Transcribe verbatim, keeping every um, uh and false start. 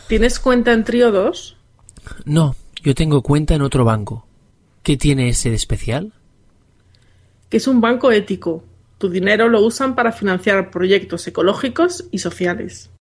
¿Tienes cuenta en Triodos? No, yo tengo cuenta en otro banco. ¿Qué tiene ese de especial? Que es un banco ético. Tu dinero lo usan para financiar proyectos ecológicos y sociales.